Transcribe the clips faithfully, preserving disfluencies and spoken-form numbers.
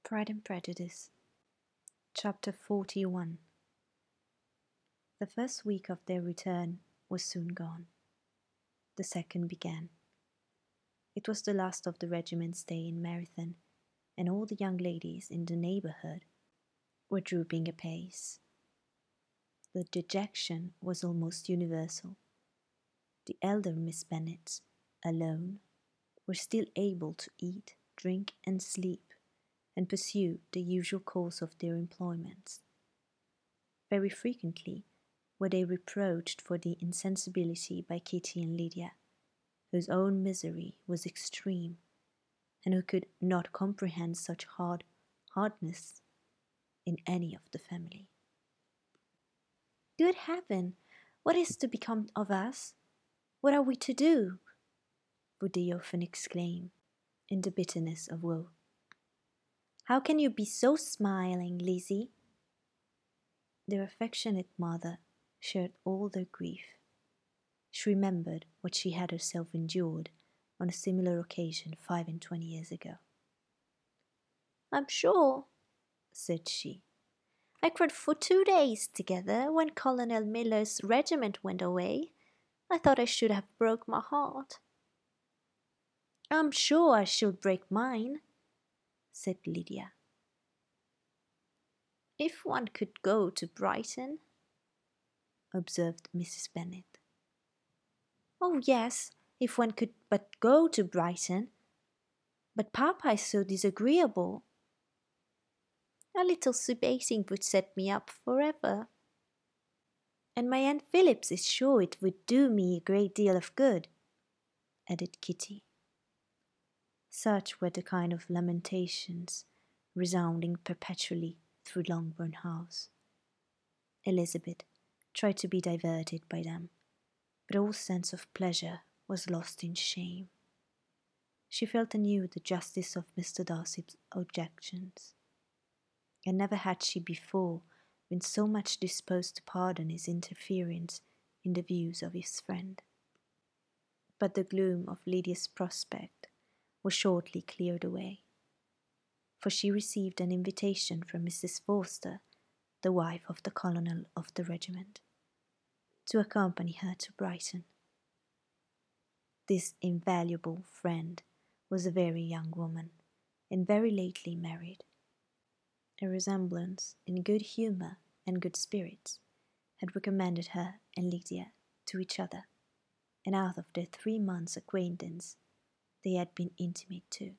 Pride and Prejudice, Chapter forty-one. The first week of their return was soon gone. The second began. It was the last of the regiment's stay in Meryton, and all the young ladies in the neighbourhood were drooping apace. The dejection was almost universal. The elder Miss Bennet, alone, were still able to eat, drink, and sleep, and pursue the usual course of their employments. Very frequently were they reproached for the insensibility by Kitty and Lydia, whose own misery was extreme, and who could not comprehend such hard hardness in any of the family. "Good heaven! What is to become of us? What are we to do?" would they often exclaim, in the bitterness of woe. "How can you be so smiling, Lizzie?" Their affectionate mother shared all their grief. She remembered what she had herself endured on a similar occasion five and twenty years ago. "I'm sure," said she, "I cried for two days together when Colonel Miller's regiment went away. I thought I should have broke my heart." "I'm sure I should break mine," said Lydia. "If one could go to Brighton," observed Missus Bennet. "Oh yes, if one could but go to Brighton. But Papa is so disagreeable. A little sea-bathing would set me up forever. And my Aunt Phillips is sure it would do me a great deal of good," added Kitty. Such were the kind of lamentations resounding perpetually through Longbourn House. Elizabeth tried to be diverted by them, but all sense of pleasure was lost in shame. She felt anew the justice of Mister Darcy's objections, and never had she before been so much disposed to pardon his interference in the views of his friend. But the gloom of Lydia's prospect was shortly cleared away, for she received an invitation from Missus Forster, the wife of the colonel of the regiment, to accompany her to Brighton. This invaluable friend was a very young woman, and very lately married. A resemblance in good humour and good spirits had recommended her and Lydia to each other, and out of their three months' acquaintance they had been intimate too.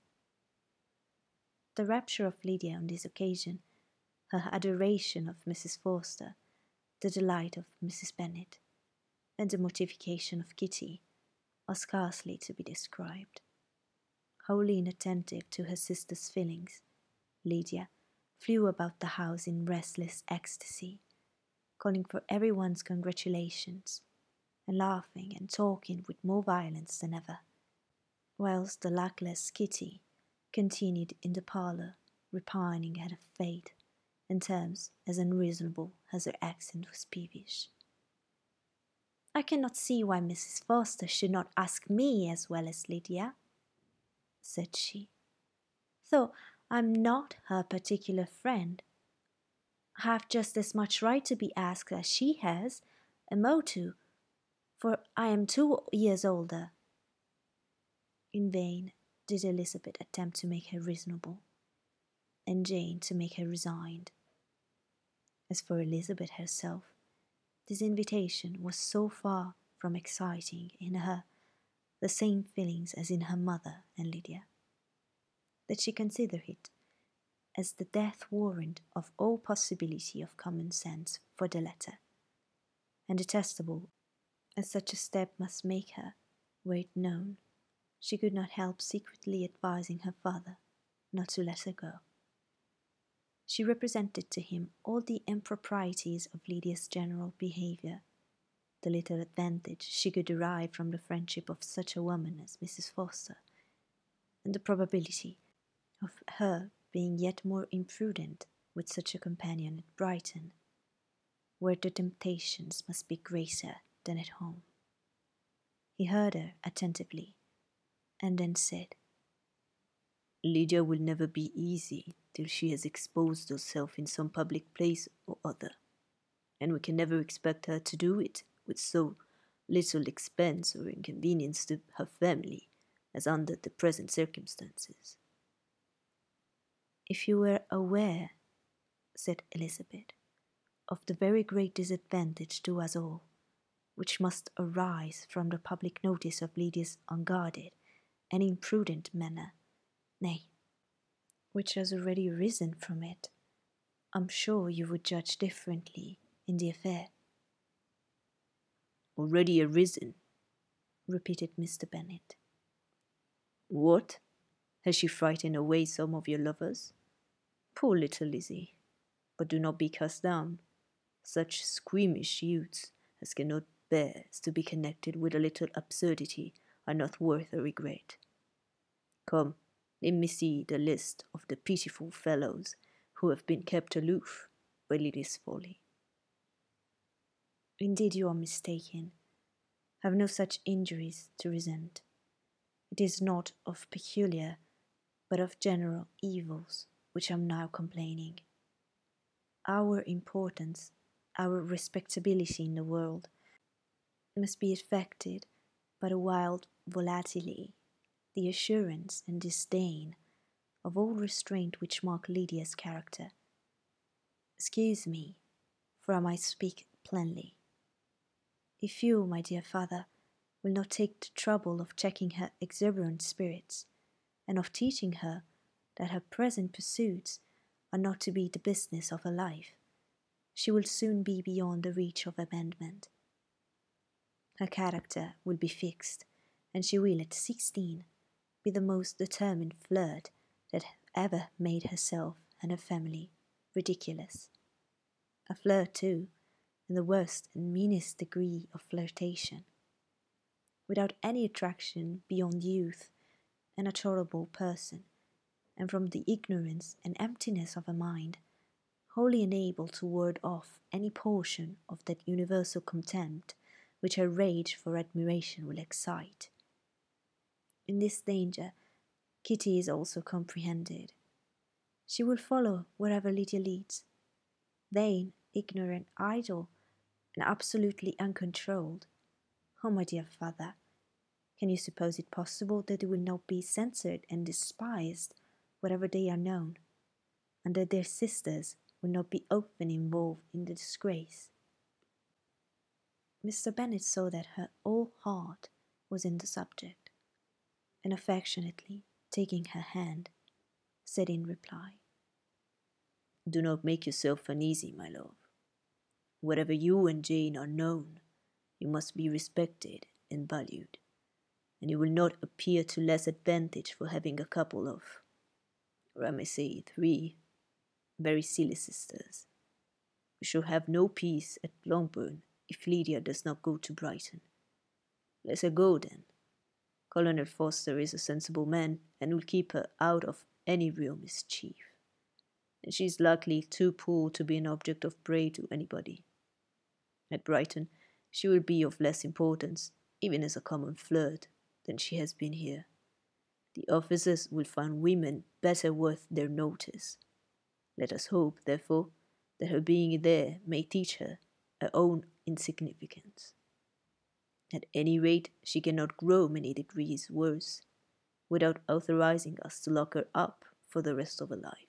The rapture of Lydia on this occasion, her adoration of Missus Forster, the delight of Missus Bennet, and the mortification of Kitty, are scarcely to be described. Wholly inattentive to her sister's feelings, Lydia flew about the house in restless ecstasy, calling for every one's congratulations, and laughing and talking with more violence than ever, whilst the luckless Kitty continued in the parlour, repining at her fate in terms as unreasonable as her accent was peevish. "I cannot see why Missus Forster should not ask me as well as Lydia," said she, "though I'm not her particular friend. I have just as much right to be asked as she has, and more too, for I am two years older." In vain did Elizabeth attempt to make her reasonable, and Jane to make her resigned. As for Elizabeth herself, this invitation was so far from exciting in her the same feelings as in her mother and Lydia, that she considered it as the death warrant of all possibility of common sense for the latter, and detestable as such a step must make her, were it known, she could not help secretly advising her father not to let her go. She represented to him all the improprieties of Lydia's general behaviour, the little advantage she could derive from the friendship of such a woman as Missus Forster, and the probability of her being yet more imprudent with such a companion at Brighton, where the temptations must be greater than at home. He heard her attentively, and then said, Lydia will never be easy till she has exposed herself in some public place or other, and we can never expect her to do it with so little expense or inconvenience to her family as under the present circumstances. If you were aware, said Elizabeth, of the very great disadvantage to us all, which must arise from the public notice of Lydia's unguarded and imprudent manner, nay, which has already arisen from it, I'm sure you would judge differently in the affair. Already arisen, repeated Mister Bennet. What? Has she frightened away some of your lovers? Poor little Lizzie! But do not be cast down. Such squeamish youths as cannot bear to be connected with a little absurdity are not worth a regret. Come, let me see the list of the pitiful fellows who have been kept aloof by Lydia's folly. Indeed, you are mistaken. I have no such injuries to resent. It is not of peculiar, but of general evils which I am now complaining. Our importance, our respectability in the world, must be affected by the wild volatility, the assurance and disdain of all restraint which mark Lydia's character. Excuse me, for I might speak plainly. If you, my dear father, will not take the trouble of checking her exuberant spirits, and of teaching her that her present pursuits are not to be the business of her life, she will soon be beyond the reach of amendment. Her character will be fixed, and she will, at sixteen, be the most determined flirt that ever made herself and her family ridiculous. A flirt, too, in the worst and meanest degree of flirtation, without any attraction beyond youth and a tolerable person, and from the ignorance and emptiness of her mind, wholly unable to ward off any portion of that universal contempt which her rage for admiration will excite. In this danger, Kitty is also comprehended. She will follow wherever Lydia leads, vain, ignorant, idle, and absolutely uncontrolled. Oh, my dear father, can you suppose it possible that they will not be censured and despised wherever they are known, and that their sisters will not be often involved in the disgrace? Mister Bennet saw that her whole heart was in the subject, and affectionately taking her hand, said in reply, Do not make yourself uneasy, my love. Wherever you and Jane are known, you must be respected and valued, and you will not appear to less advantage for having a couple of, or I may say three, very silly sisters. We shall have no peace at Longbourn if Lydia does not go to Brighton. Let her go, then. Colonel Forster is a sensible man, and will keep her out of any real mischief, and she is likely too poor to be an object of prey to anybody. At Brighton, she will be of less importance, even as a common flirt, than she has been here. The officers will find women better worth their notice. Let us hope, therefore, that her being there may teach her her own insignificance. At any rate, she cannot grow many degrees worse, without authorizing us to lock her up for the rest of her life.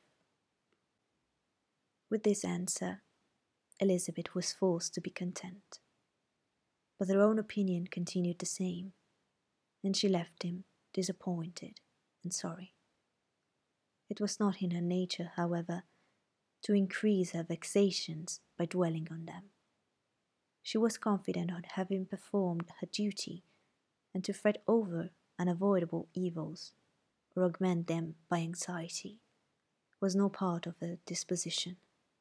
With this answer, Elizabeth was forced to be content, but her own opinion continued the same, and she left him disappointed and sorry. It was not in her nature, however, to increase her vexations by dwelling on them. She was confident of having performed her duty, and to fret over unavoidable evils, or augment them by anxiety, was no part of her disposition.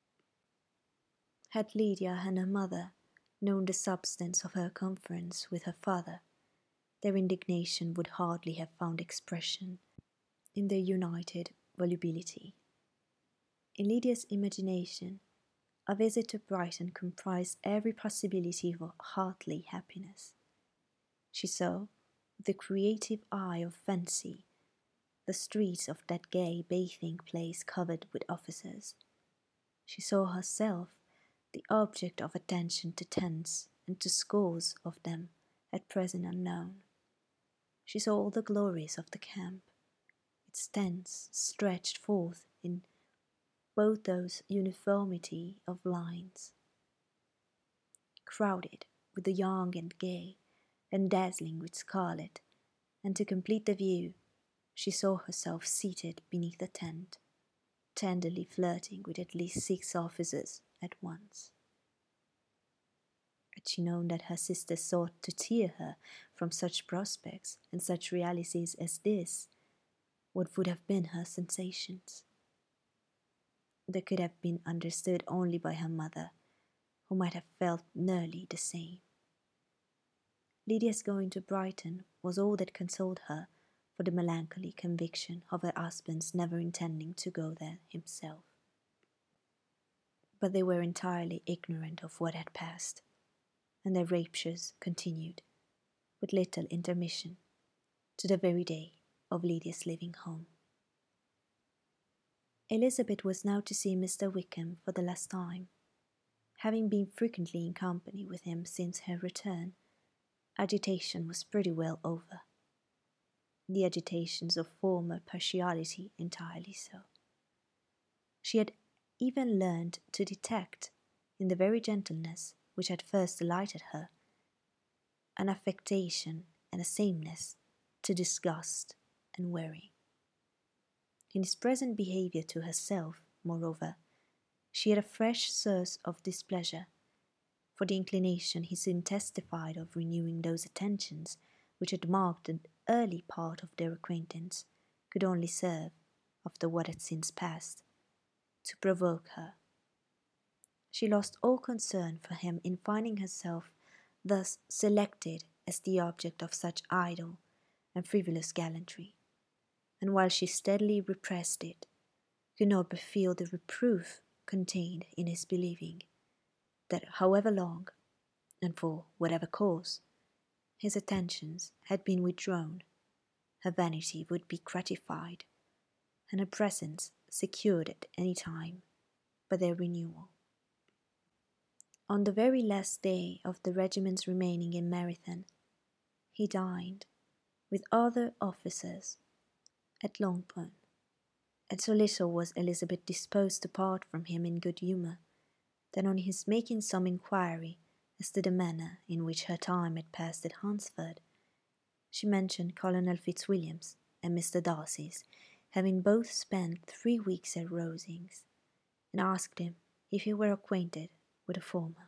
Had Lydia and her mother known the substance of her conference with her father, their indignation would hardly have found expression in their united volubility. In Lydia's imagination, a visit to Brighton comprised every possibility of heartly happiness. She saw, with the creative eye of fancy, the streets of that gay bathing place covered with officers. She saw herself the object of attention to tens and to scores of them at present unknown. She saw all the glories of the camp, its tents stretched forth in both those uniformity of lines, crowded with the young and gay, and dazzling with scarlet, and to complete the view, she saw herself seated beneath a tent, tenderly flirting with at least six officers at once. Had she known that her sister sought to tear her from such prospects and such realities as this, what would have been her sensations? They could have been understood only by her mother, who might have felt nearly the same. Lydia's going to Brighton was all that consoled her for the melancholy conviction of her husband's never intending to go there himself. But they were entirely ignorant of what had passed, and their raptures continued, with little intermission, to the very day of Lydia's leaving home. Elizabeth was now to see Mister Wickham for the last time. Having been frequently in company with him since her return, agitation was pretty well over. The agitations of former partiality entirely so. She had even learned to detect, in the very gentleness which had first delighted her, an affectation and a sameness to disgust and worry. In his present behaviour to herself, moreover, she had a fresh source of displeasure, for the inclination he soon testified of renewing those attentions which had marked the early part of their acquaintance could only serve, after what had since passed, to provoke her. She lost all concern for him in finding herself thus selected as the object of such idle and frivolous gallantry, and while she steadily repressed it, could not but feel the reproof contained in his believing that however long, and for whatever cause, his attentions had been withdrawn, her vanity would be gratified, and her presence secured at any time by their renewal. On the very last day of the regiment's remaining in Meryton, he dined, with other officers, at Longbourn, and so little was Elizabeth disposed to part from him in good humour, that on his making some inquiry as to the manner in which her time had passed at Hunsford, she mentioned Colonel Fitzwilliam's and Mister Darcy's having both spent three weeks at Rosings, and asked him if he were acquainted with the former.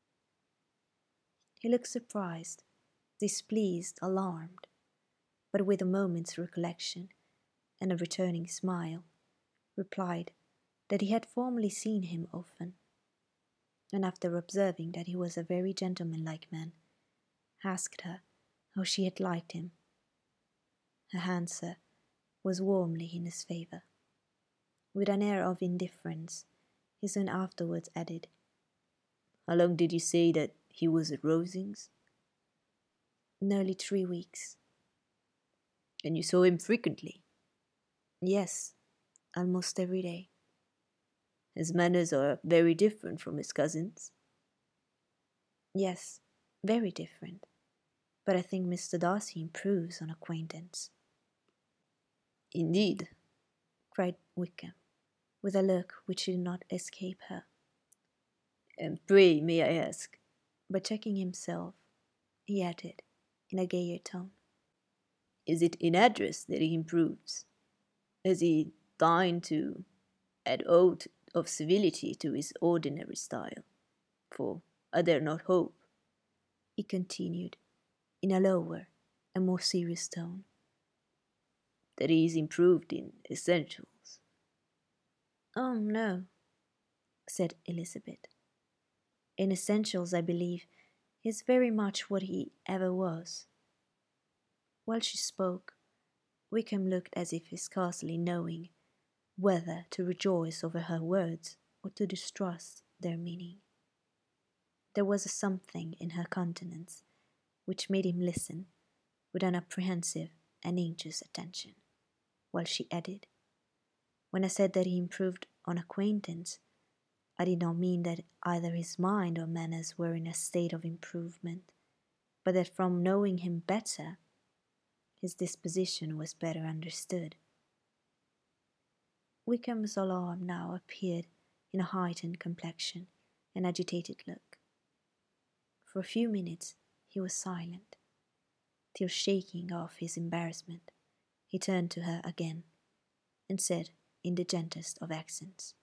He looked surprised, displeased, alarmed, but with a moment's recollection and a returning smile, replied that he had formerly seen him often, and after observing that he was a very gentlemanlike man, asked her how she had liked him. Her answer was warmly in his favour. With an air of indifference, he soon afterwards added, "How long did you say that he was at Rosings?" "Nearly three weeks." "And you saw him frequently?" "Yes, almost every day." "His manners are very different from his cousin's?" "Yes, very different. But I think Mister Darcy improves on acquaintance." "Indeed?" cried Wickham, with a look which did not escape her. "And pray, may I ask—" But checking himself, he added, in a gayer tone, "Is it in address that he improves? Has he deigned to add aught of civility to his ordinary style? For I dare not hope," he continued, in a lower and more serious tone, "that he is improved in essentials." "Oh, no," said Elizabeth. "In essentials, I believe, he is very much what he ever was." While she spoke, Wickham looked as if scarcely knowing whether to rejoice over her words or to distrust their meaning. There was a something in her countenance which made him listen with an apprehensive and anxious attention. while she added, "When I said that he improved on acquaintance, I did not mean that either his mind or manners were in a state of improvement, but that from knowing him better, his disposition was better understood." Wickham's alarm now appeared in a heightened complexion and agitated look. For a few minutes he was silent, till, shaking off his embarrassment, he turned to her again, and said in the gentlest of accents,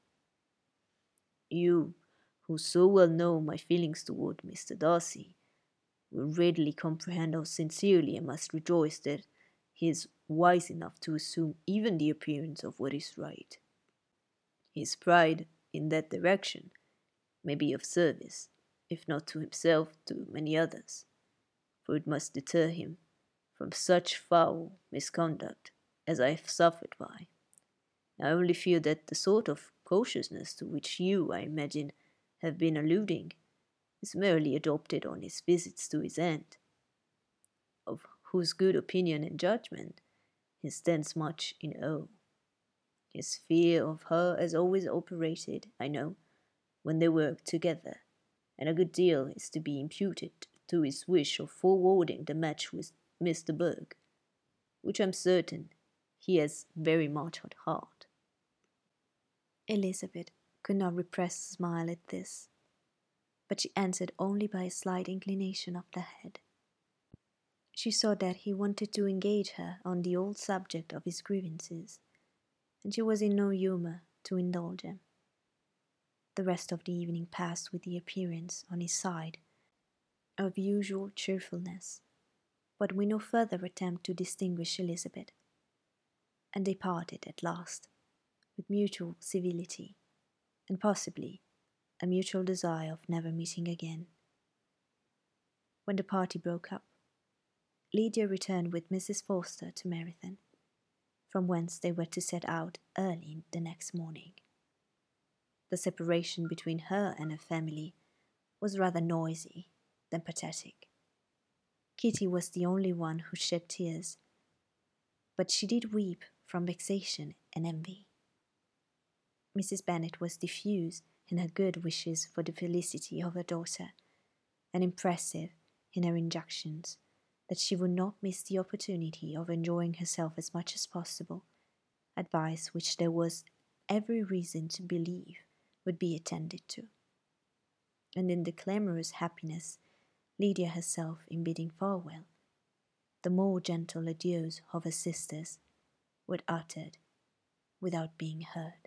"You, who so well know my feelings toward Mister Darcy, will readily comprehend how sincerely I must rejoice that he is wise enough to assume even the appearance of what is right. His pride in that direction may be of service, if not to himself, to many others, for it must deter him from such foul misconduct as I have suffered by. I only fear that the sort of cautiousness to which you, I imagine, have been alluding is merely adopted on his visits to his aunt, of whose good opinion and judgment he stands much in awe. His fear of her has always operated, I know, when they work together, and a good deal is to be imputed to his wish of forwarding the match with Mister Burke, which I am certain he has very much at heart." Elizabeth could not repress a smile at this, but she answered only by a slight inclination of the head. She saw that he wanted to engage her on the old subject of his grievances, and she was in no humour to indulge him. The rest of the evening passed with the appearance, on his side, of usual cheerfulness, but with no further attempt to distinguish Elizabeth, and they parted at last, with mutual civility, and possibly a mutual desire of never meeting again. When the party broke up, Lydia returned with Missus Forster to Meryton, from whence they were to set out early the next morning. The separation between her and her family was rather noisy than pathetic. Kitty was the only one who shed tears, but she did weep from vexation and envy. Missus Bennet was diffuse in her good wishes for the felicity of her daughter, and impressive in her injunctions that she would not miss the opportunity of enjoying herself as much as possible, advice which there was every reason to believe would be attended to. And in the clamorous happiness Lydia herself in bidding farewell, the more gentle adieus of her sisters were uttered without being heard.